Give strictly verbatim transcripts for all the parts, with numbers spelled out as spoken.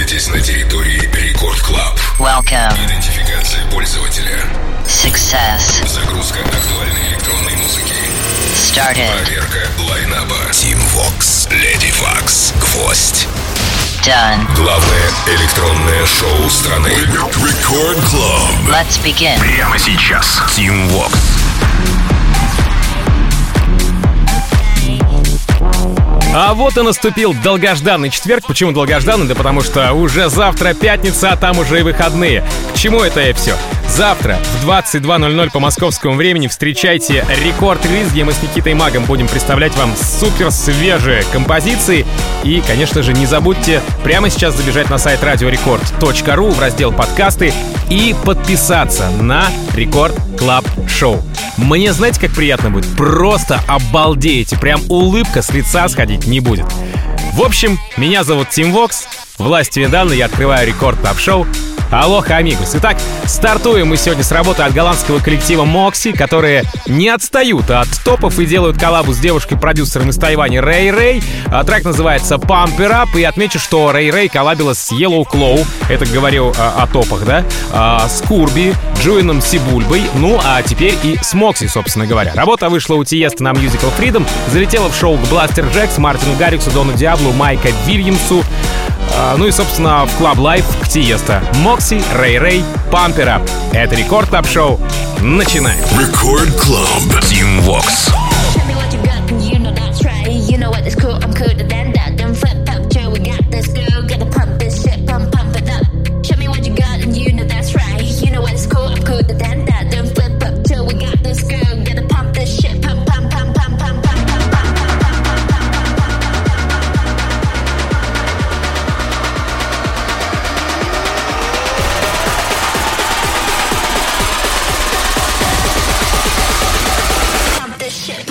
находитесь на территории Рекорд Клаб. Welcome. Идентификация пользователя. Success. Загрузка актуальной электронной музыки. Started. Проверка лайнаба. Team Vox, Lady Vox, Гвоздь. Done. Главное электронное шоу страны. Рекорд Клаб. Let's begin. Прямо сейчас. Team Vox. А вот и наступил долгожданный четверг. Почему долгожданный? Да потому что уже завтра пятница, а там уже и выходные. К чему это и все? Завтра в двадцать два ноль ноль по московскому времени встречайте рекорд-релиз, где мы с Никитой Магом будем представлять вам супер свежие композиции. И, конечно же, не забудьте прямо сейчас забежать на сайт радио рекорд точка ру в раздел «Подкасты» и подписаться на Рекорд Клаб Шоу. Мне, знаете, как приятно будет? Просто обалдеете. Прям улыбка с лица сходить не будет. В общем, меня зовут Team Vox. Власть Видана, я открываю Рекорд Клаб Шоу. Алоха, амигос. Итак, стартуем мы сегодня с работы от голландского коллектива Moxy, которые не отстают от топов и делают коллабу с девушкой-продюсером из Тайваня Рэй Рэй. Трек называется Pump It Up, и отмечу, что Рэй Рэй коллабила с Yellow Claw, это говорил а, о топах, да, а, с Курби, Джуином Сибульбой, ну а теперь и с Moxy, собственно говоря. Работа вышла у Тиеста на Musical Freedom, залетела в шоу к Бластер Джекс, Мартину Гарриксу, Дону Диаблу, Майка Вильямсу, а, ну и, собственно, в Club Life к Тиеста. Moxy, Рэй Рэй, Pump It Up. Это Рекорд Клаб Шоу. Начинаем. Рекорд Клаб. Team Vox. Shit.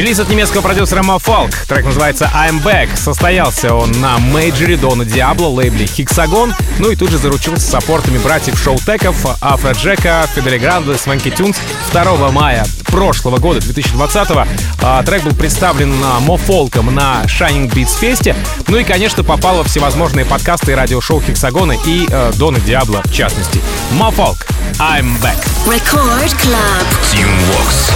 Релиз от немецкого продюсера Mofolk. Трек называется I'm Back. Состоялся он на мейджоре Дона Диабло, лейбле Hexagon. Ну и тут же заручился саппортами братьев Шоутеков, Афроджека, Фидели Гранде, Свенки Тюнс. второго мая прошлого года, две тысячи двадцатого, а, трек был представлен Mofolk'ом на Shining Beats Fest. Ну и, конечно, попал во всевозможные подкасты и радиошоу Hexagon и э, Дона Диабло в частности. Mofolk, I'm Back. Record Club. Team Vox.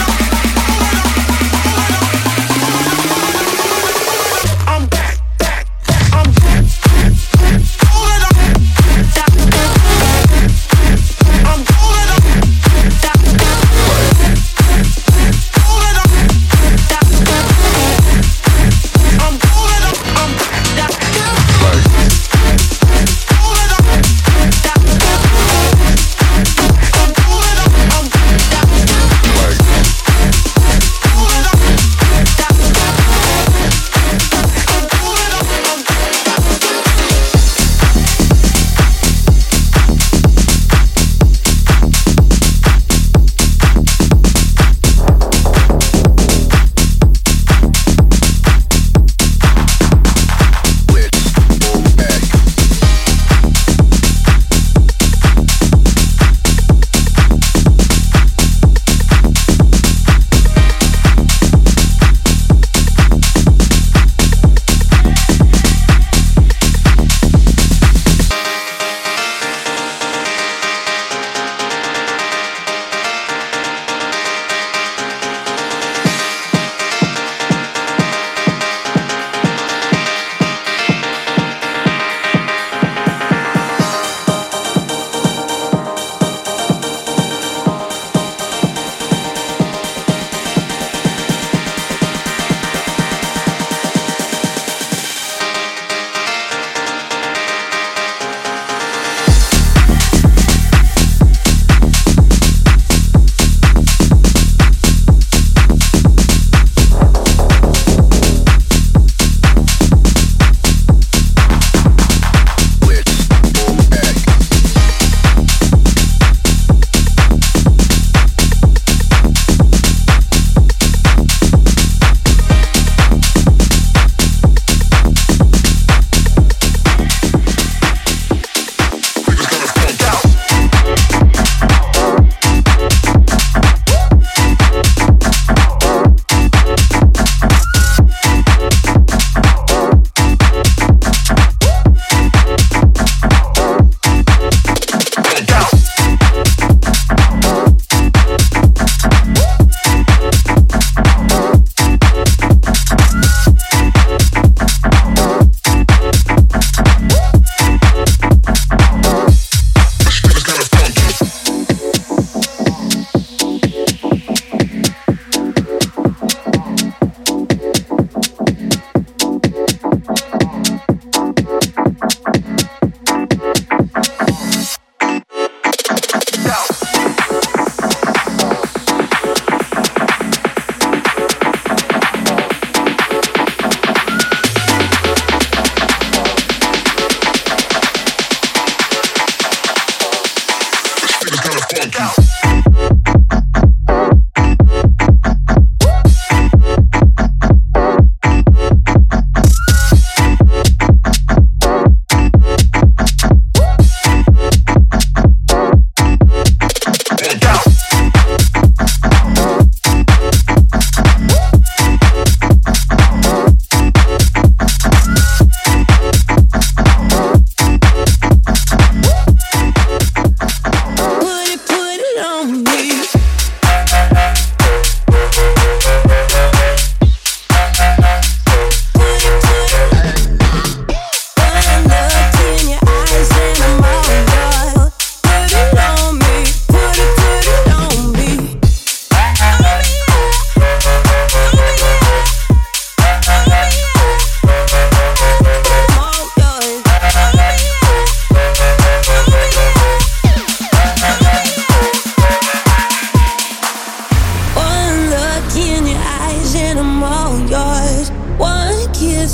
I'm back, back.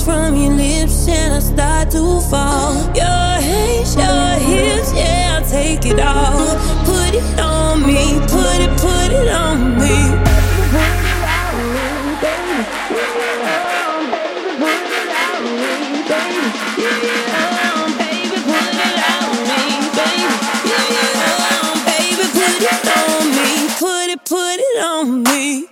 from your lips and I start to fall. Your hands, your hips, yeah, I'll take it all. Put it on me, put it, put it on me. Put it on me.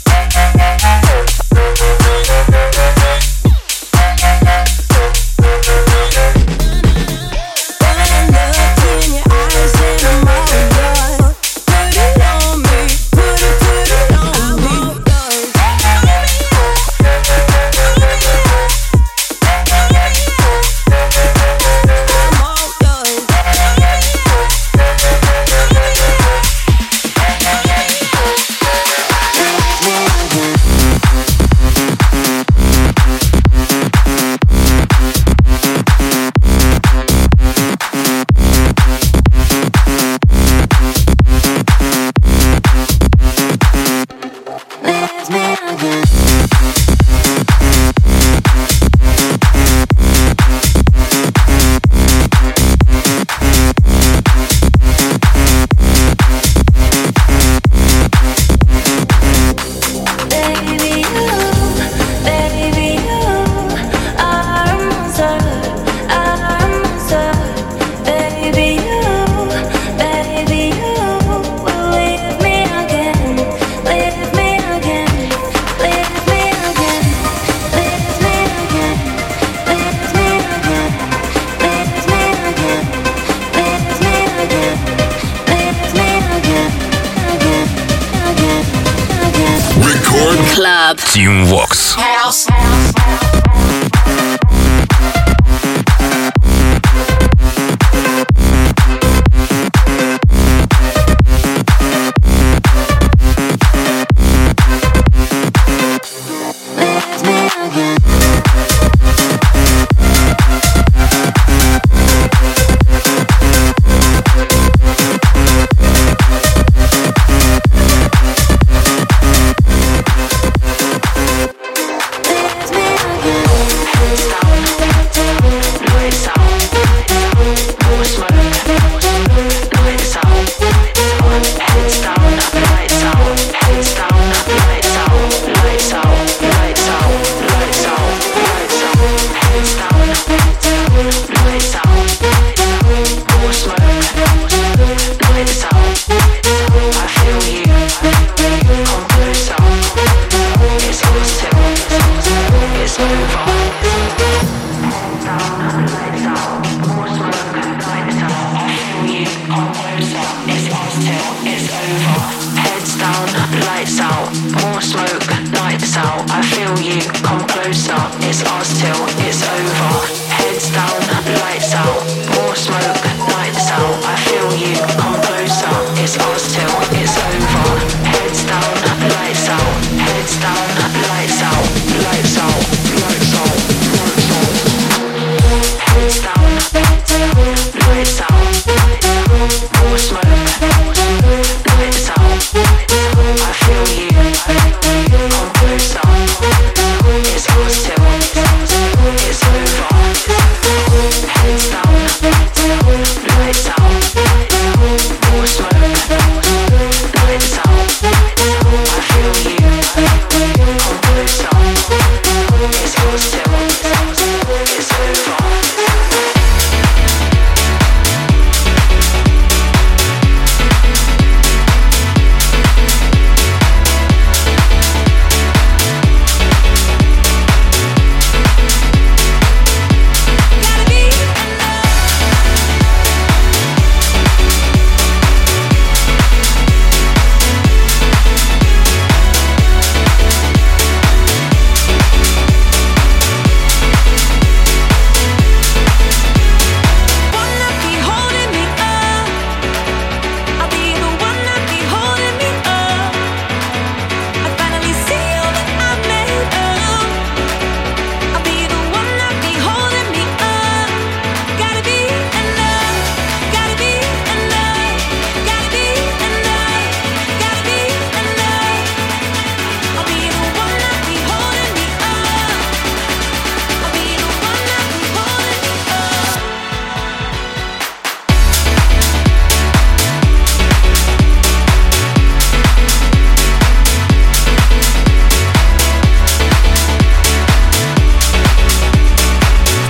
Team Vox. House.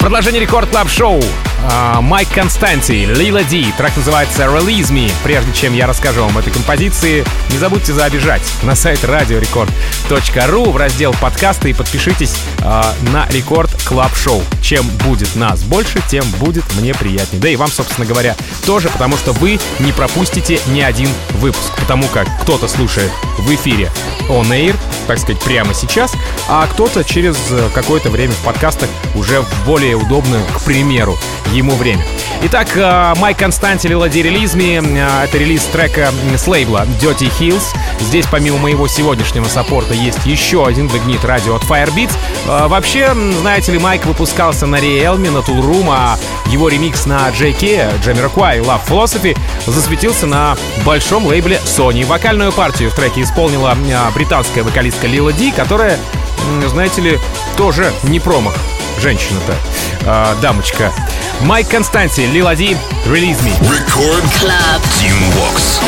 Продолжение Рекорд Клаб Шоу. Майк Константи, Лила Ди. Трек называется Release Me. Прежде чем я расскажу вам этой композиции, не забудьте забежать на сайт радио рекорд точка ру в раздел подкасты и подпишитесь э, на Рекорд Клаб Шоу. Чем будет нас больше, тем будет мне приятнее. Да и вам, собственно говоря, тоже, потому что вы не пропустите ни один выпуск. Потому как кто-то слушает в эфире on air, так сказать, прямо сейчас, а кто-то через какое-то время в подкастах уже в более удобное, к примеру, ему время. Итак, Майк Константи, Лила Ди, Release Me. Это релиз трека с лейбла Dirty Hills. Здесь, помимо моего сегодняшнего саппорта, есть еще один Vigneet Radio от Firebeats. Вообще, знаете ли, Майк выпускался на Realme, на Tool Room, а его ремикс на джей кей, Jamiroquai, Love Philosophy, засветился на большом лейбле Sony. Вокальную партию в треке исполнила британская вокалистка Лила Ди, которая, знаете ли, тоже не промах. Женщина-то, э, дамочка. Майк Константи, Лила Ди, Release Me. Record Club Team Vox.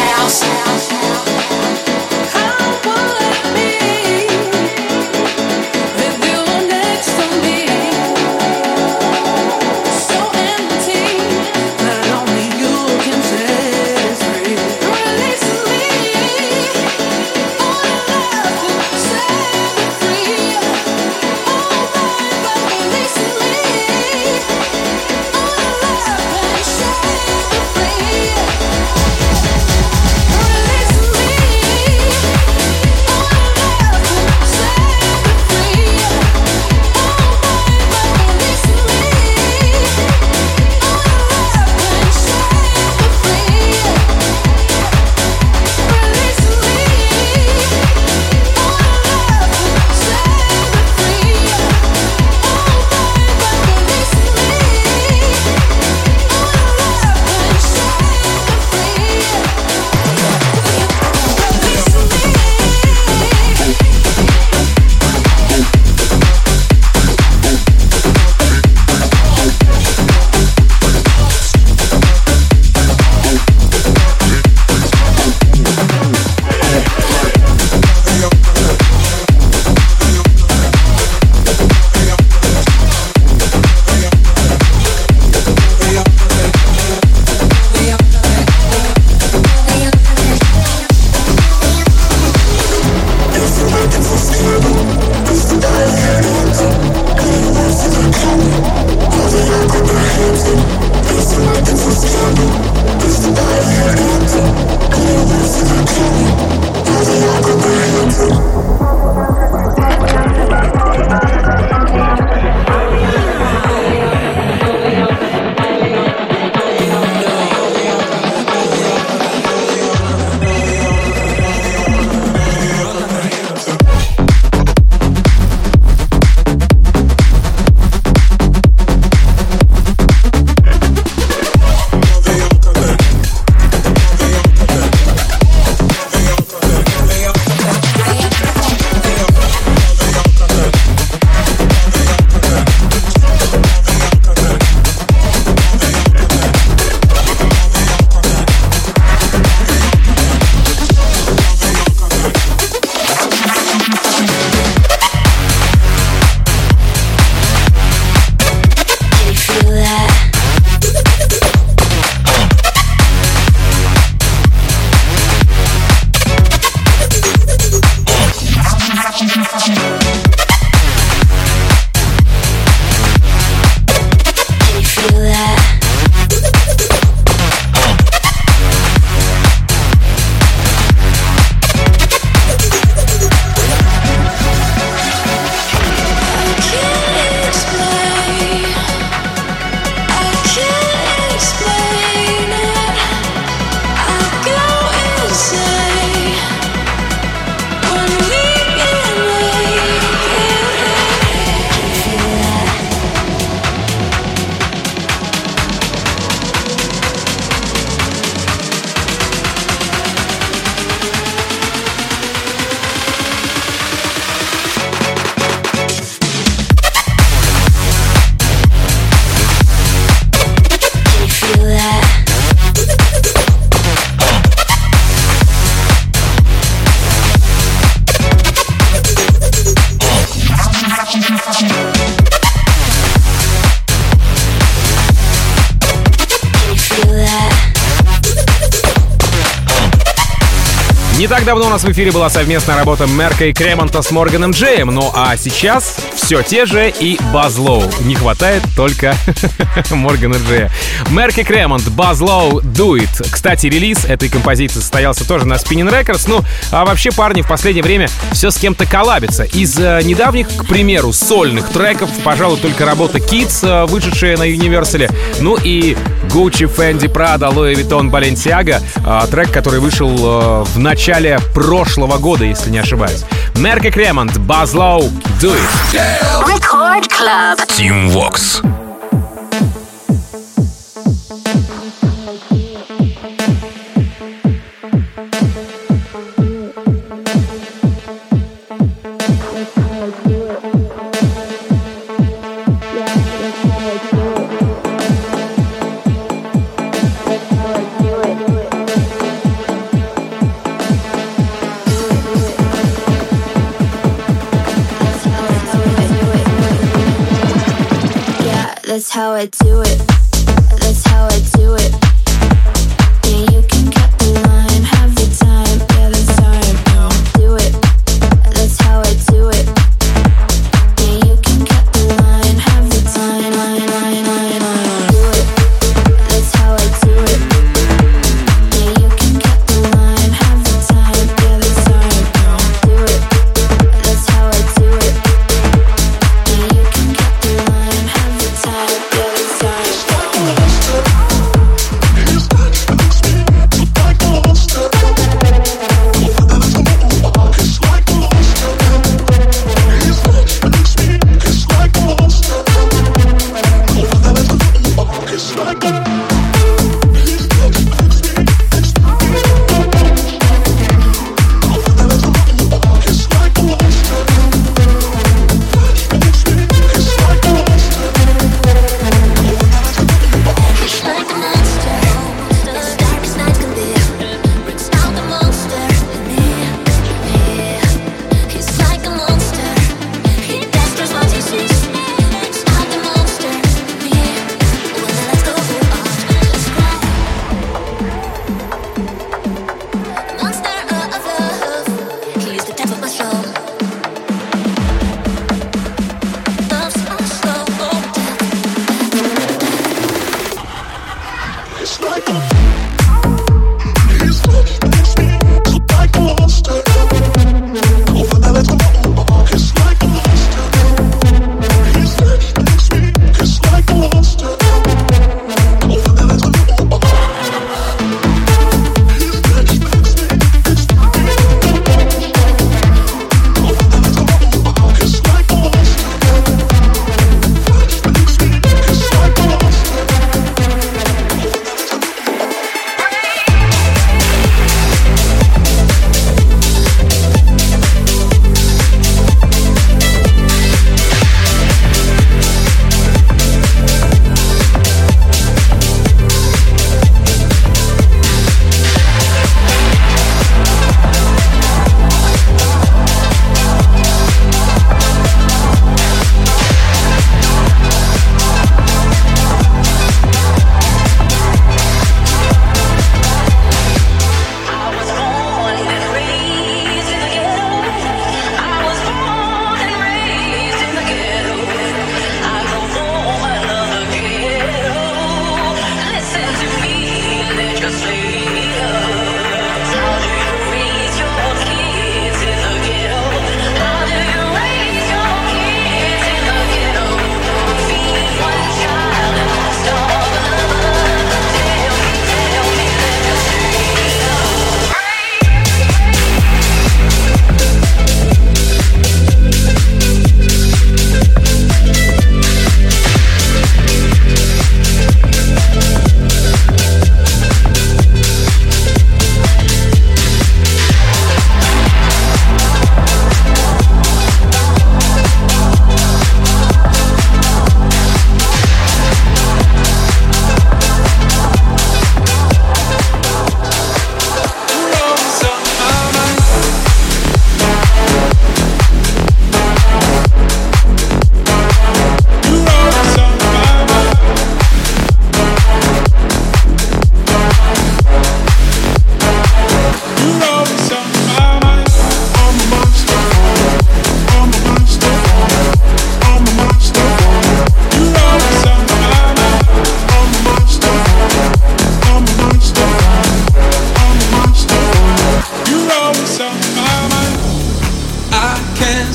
Release Не так давно у нас в эфире была совместная работа Мерка и Кремонта с Морганом Джеем, ну а сейчас все те же и Buzz Low. Не хватает только Моргана Джея. Мерк и Кремонт, Buzz Low, Do It. Кстати, релиз этой композиции состоялся тоже на Spinnin' Records. Ну, а вообще парни в последнее время все с кем-то коллабятся. Из э, недавних, к примеру, сольных треков, пожалуй, только работа Kids, э, вышедшая на Universal. Ну и Gucci, Fendi, Prada, Louis Vuitton, Balenciaga. Э, трек, который вышел э, в начале прошлого года, если не ошибаюсь. Мерк и Кремонт, Buzz Low, Do It. Record Club. Team Vox. That's how I do it. That's how I do it. Yeah, you can cut the line, have the time. Yeah, that's how I do it. That's how I do it. Yeah, you can cut the line, have the time. Line, line, line, line. Do it. That's how I do it. Yeah, you can cut the line, have the time. Yeah, that's how I do it. That's how I do it. Yeah, you can cut the line, have the time. Yeah, that's how I do it.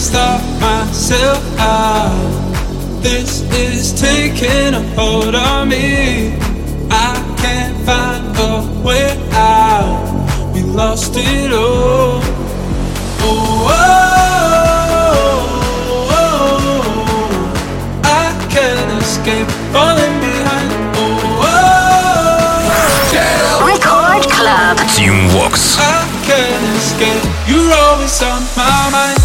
stop myself out. This is taking a hold on me. I can't find a way out. We lost it all. Oh, oh, oh, oh. I can't escape falling behind. Oh, oh, oh. Record Club. Team Vox. I can't escape. You're always on my mind.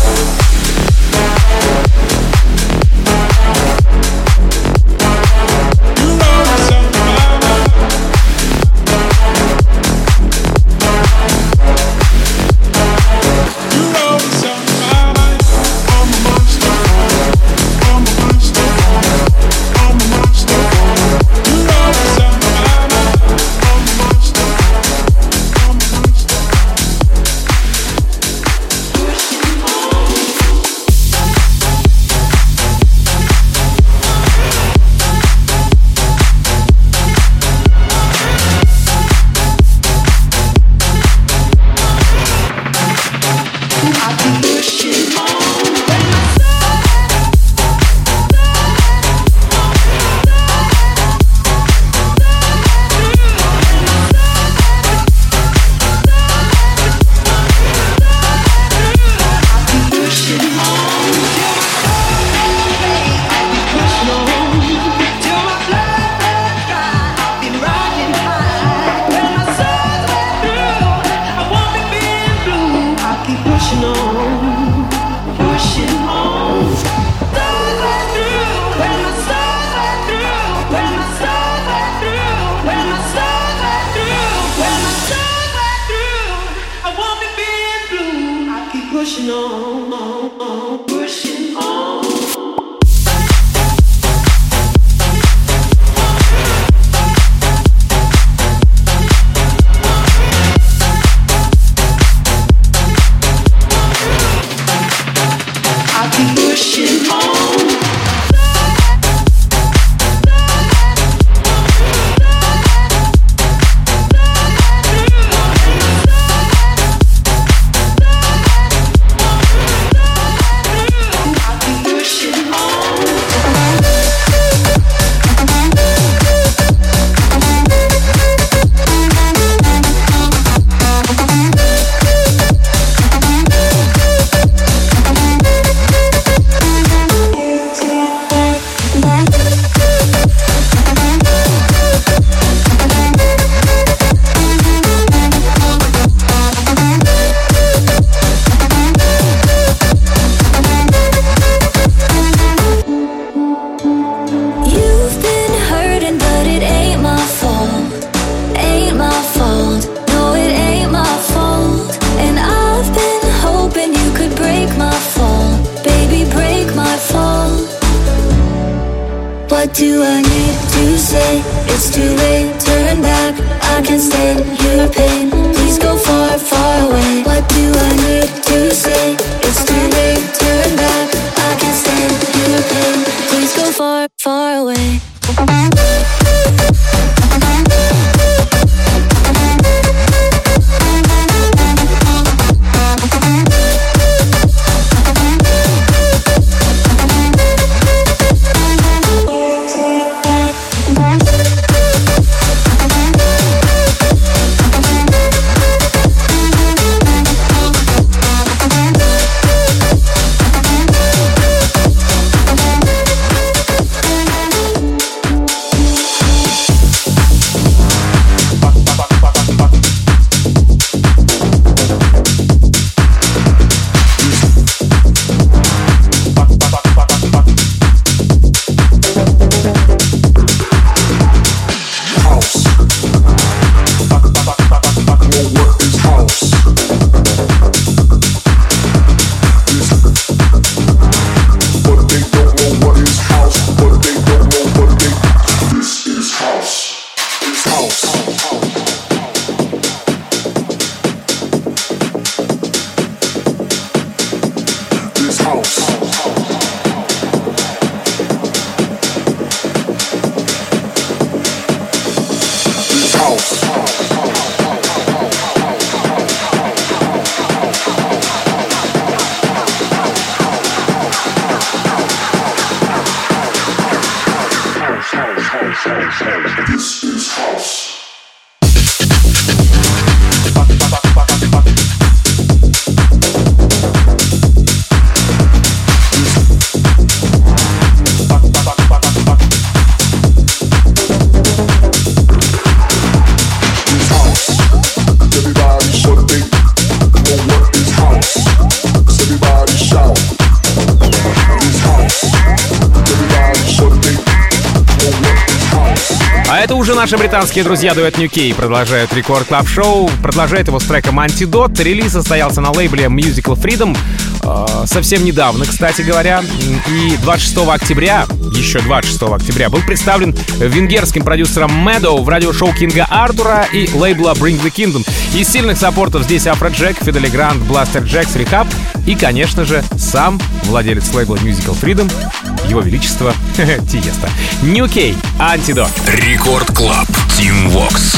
What do I need to say? It's too late, turn back. I can't stand your pain. Please go far, far away. What do I need to say? It's too late, turn back. I can't stand your pain. Please go far, far away. Это уже наши британские друзья дуэт New Key продолжают Рекорд Клаб Шоу. Продолжает его с треком Antidote. Релиз состоялся на лейбле Musical Freedom э, совсем недавно, кстати говоря. И двадцать шестого октября, еще двадцать шестого октября, был представлен венгерским продюсером Meadow в радиошоу Кинга Артура и лейбла Bring the Kingdom. Из сильных саппортов здесь Афроджек, Фидели Грант, Бластер Джекс, Рехаб и, конечно же, сам владелец лейбла Musical Freedom, его величество Тиеста. New Key, Antidote. Рекорд Клаб, Team Vox.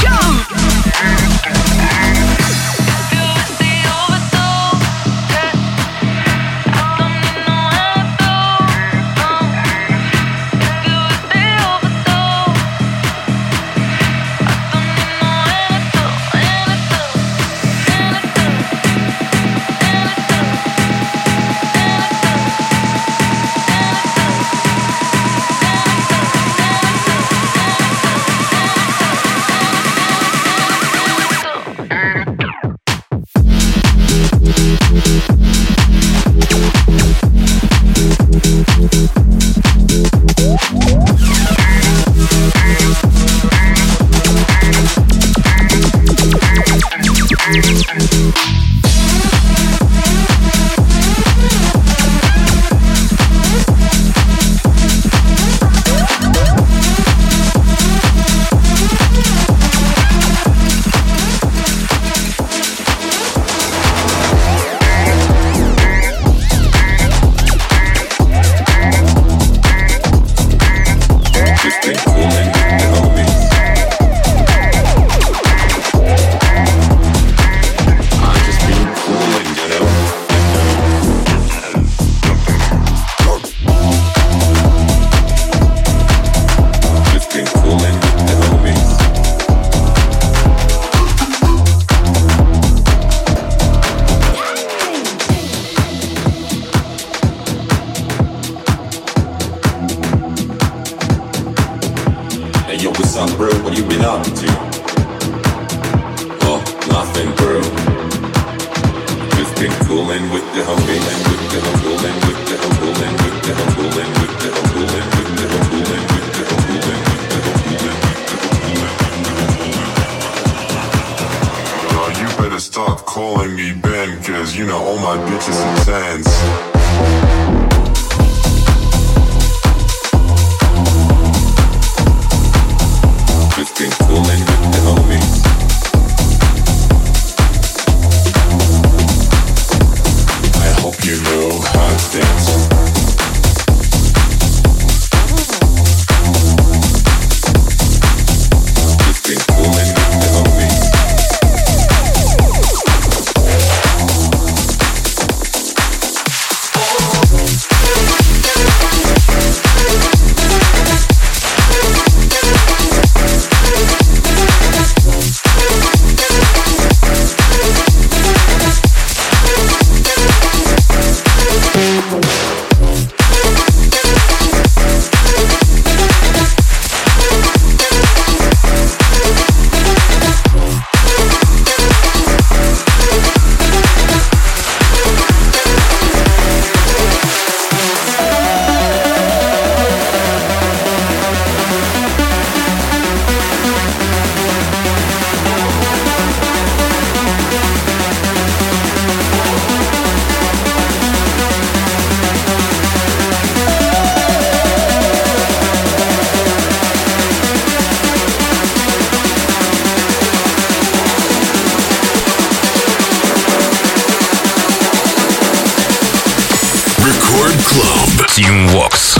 Team Vox.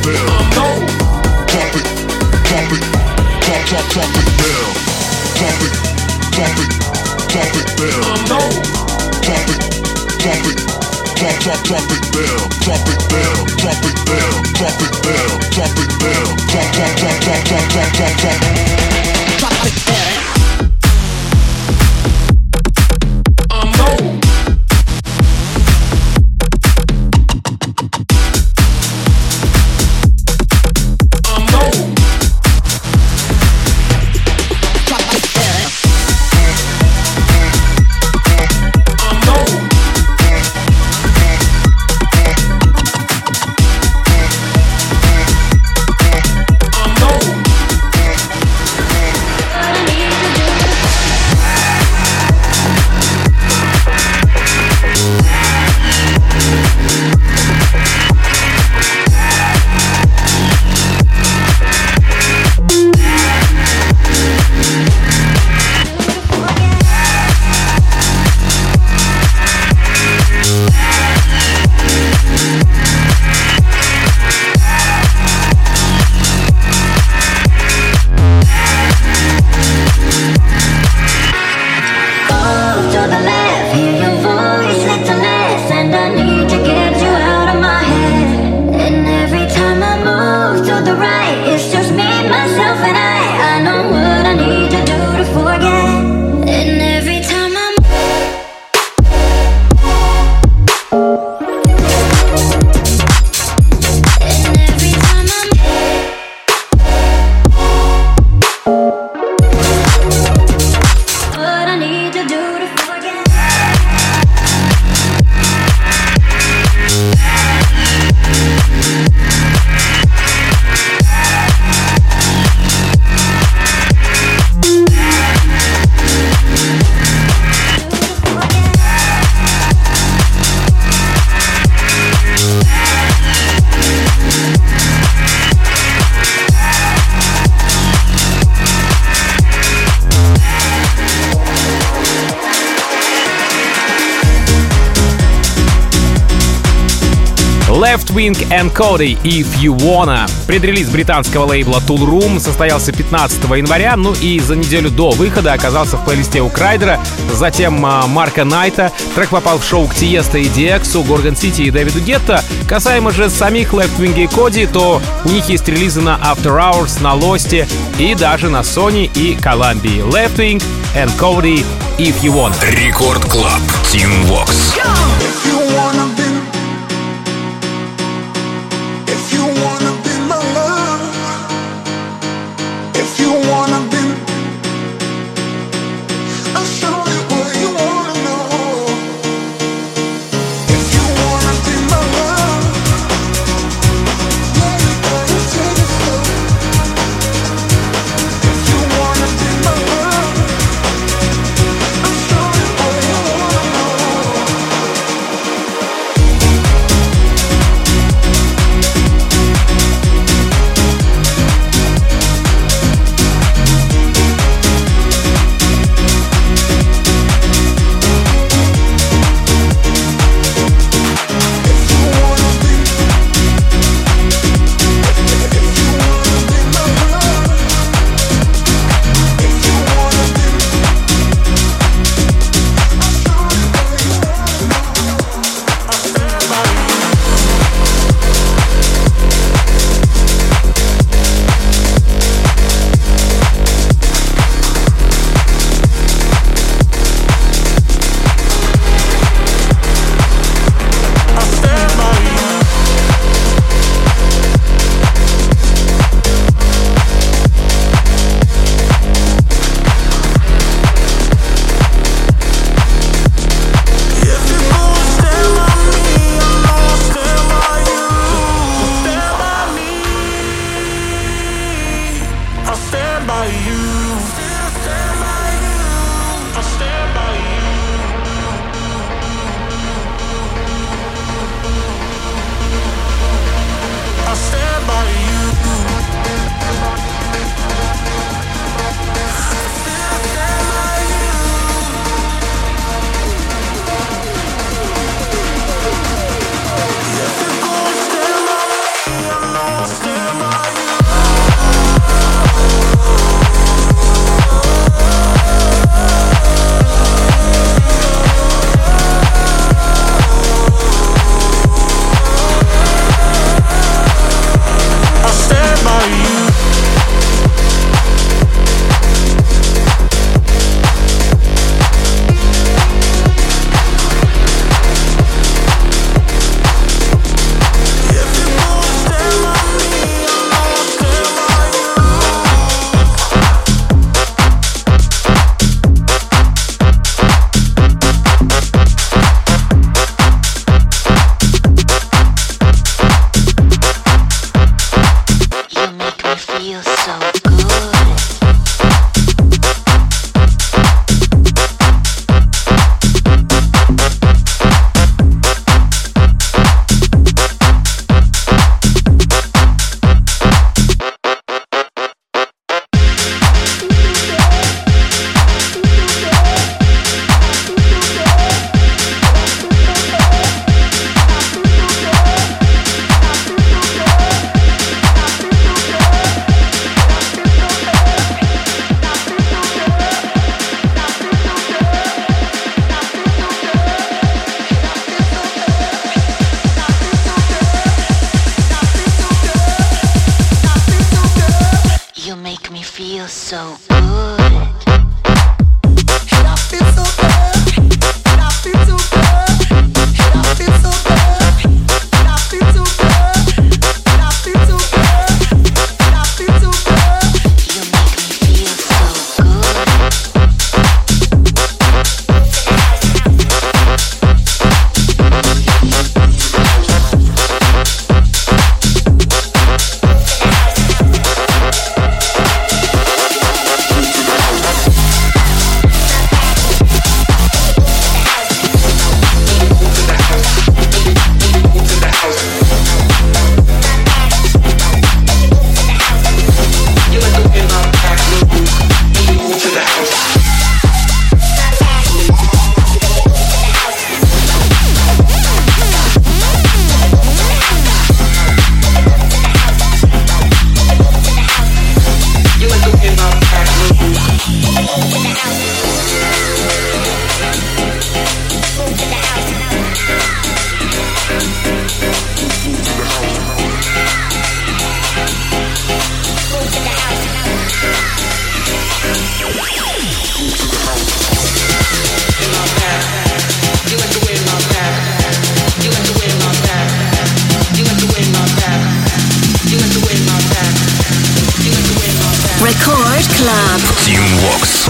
Left Wing and Cody If You Wanna. Предрелиз британского лейбла Tool Room состоялся пятнадцатого января, ну и за неделю до выхода оказался в плейлисте у Крайдера, затем а, Марка Найта. Трек попал в шоу к Тиесто и Ди Эксу, Горгон Сити и Дэвиду Гетто. Касаемо же самих Left Wing и Cody, то у них есть релизы на After Hours, на Lost и даже на Sony и Columbia. Left Wing and Cody If You Wanna. Рекорд Клаб. Team Vox. If so good. And I feel so good. And I feel so good. And I feel so good. And I feel so good. And I feel so good. And I feel so good. You make me feel so good. Record Club. Team Vox.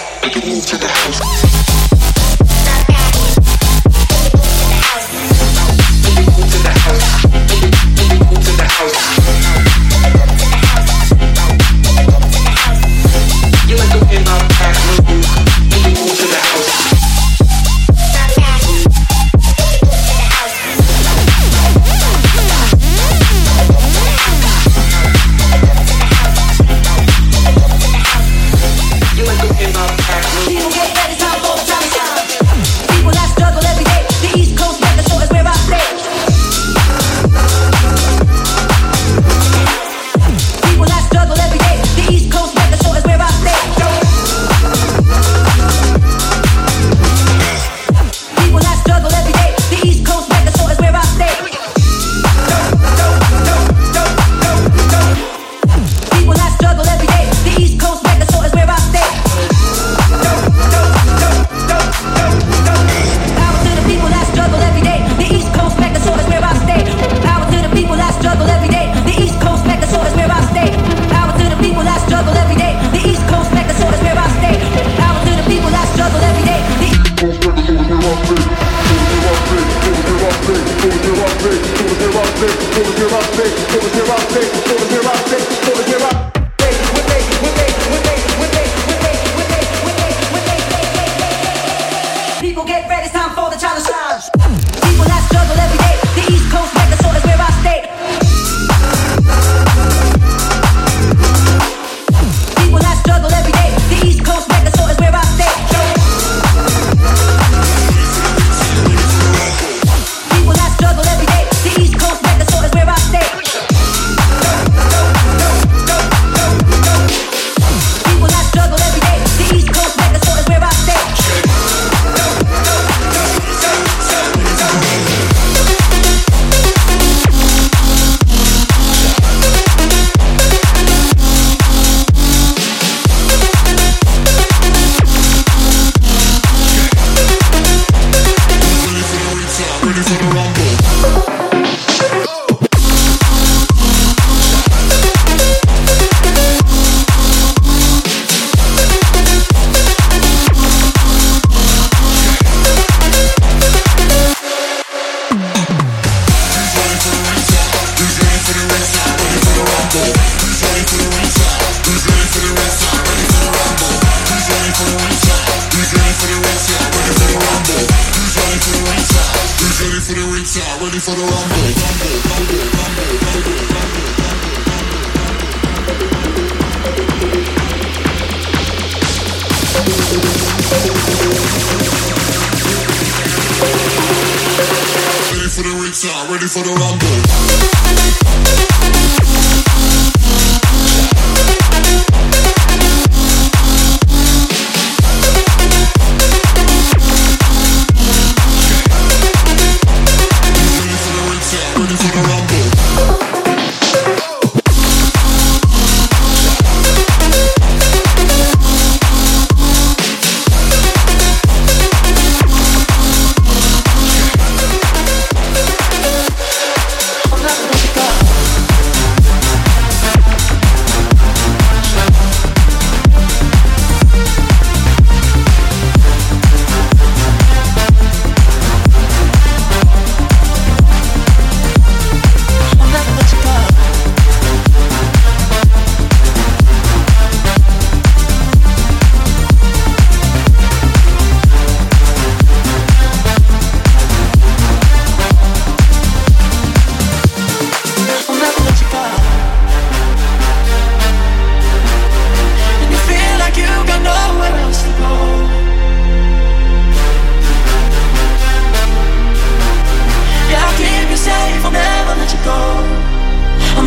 Ready for the rumble.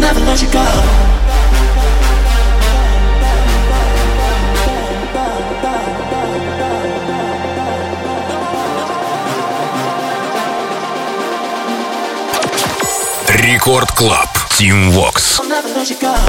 never let you go. Рекорд Клаб. Team Vox. I'll never let you go.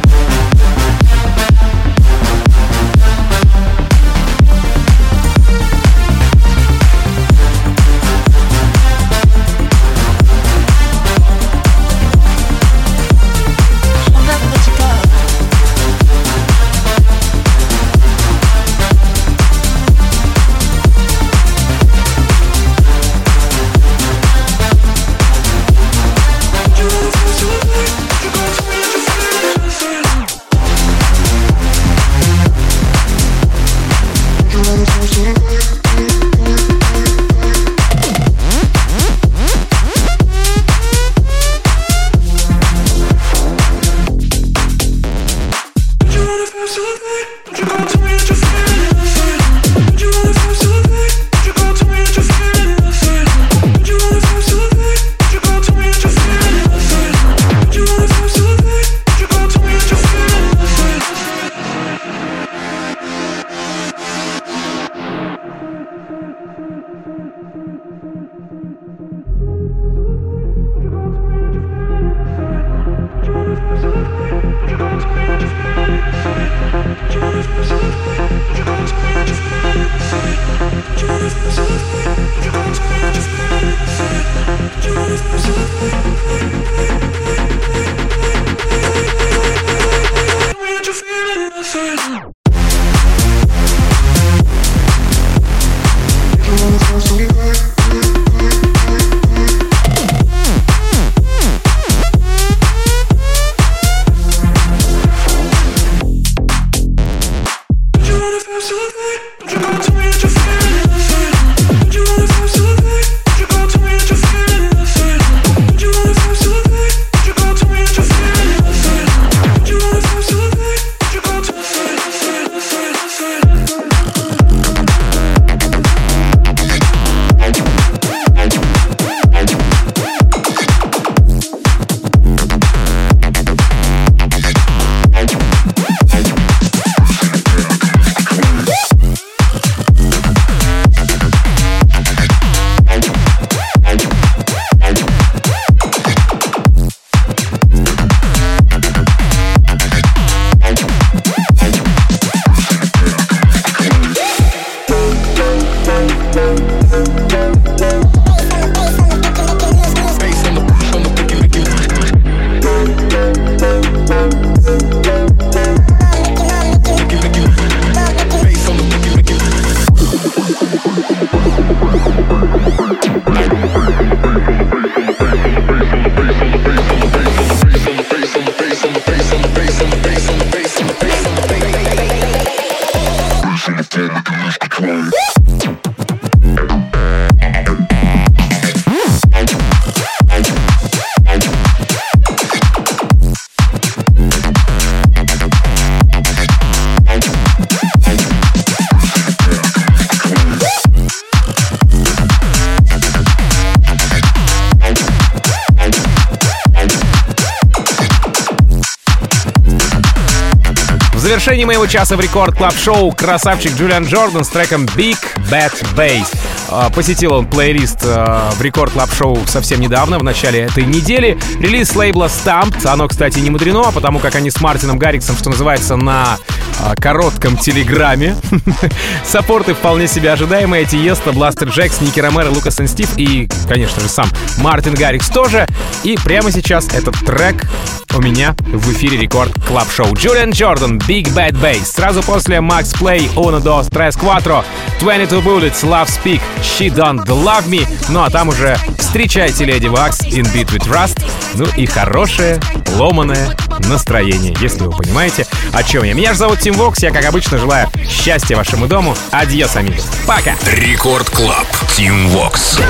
В завершении моего часа в Рекорд Клаб Шоу красавчик Джулиан Джордан с треком Big Bad Bass. Посетил он плейлист в Рекорд Клаб Шоу совсем недавно, в начале этой недели. Релиз лейбла Stamped. Оно, кстати, не мудрено, потому как они с Мартином Гарриксом, что называется, на коротком телеграмме. Саппорты вполне себе ожидаемые. Тиеста, Бластер Джекс, Ники Ромеро, Лукас и Стив и, конечно же, сам Мартин Гаррикс тоже. И прямо сейчас этот трек у меня в эфире Рекорд Клаб Шоу. Джулиан Джордан, Big Bad Bass. Сразу после Max Play, Uno, Dos, Tres, Cuatro, двадцать два Bullets, Love Speak, She Don't Love Me. Ну а там уже встречайте Lady Wax, In Beat With Rust. Ну и хорошее, ломаное настроение, если вы понимаете, о чем я. Меня же зовут Team Vox, я, как обычно, желаю счастья вашему дому. Адьос, амигос. Пока! Рекорд Клаб, Team Vox.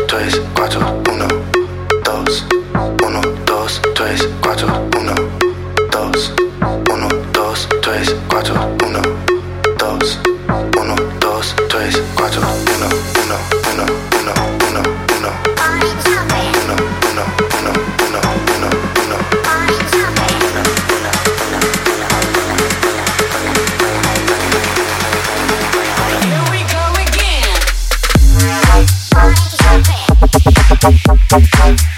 tres, cuatro, uno, dos, uno, dos, tres, cuatro, uno, dos, uno, dos, tres, cuatro, uno, dos, uno, dos, tres, cuatro, uno, uno, uno, uno, uno, uno, uno, uno, uno, uno, uno, uno. Here we go again. Thank you.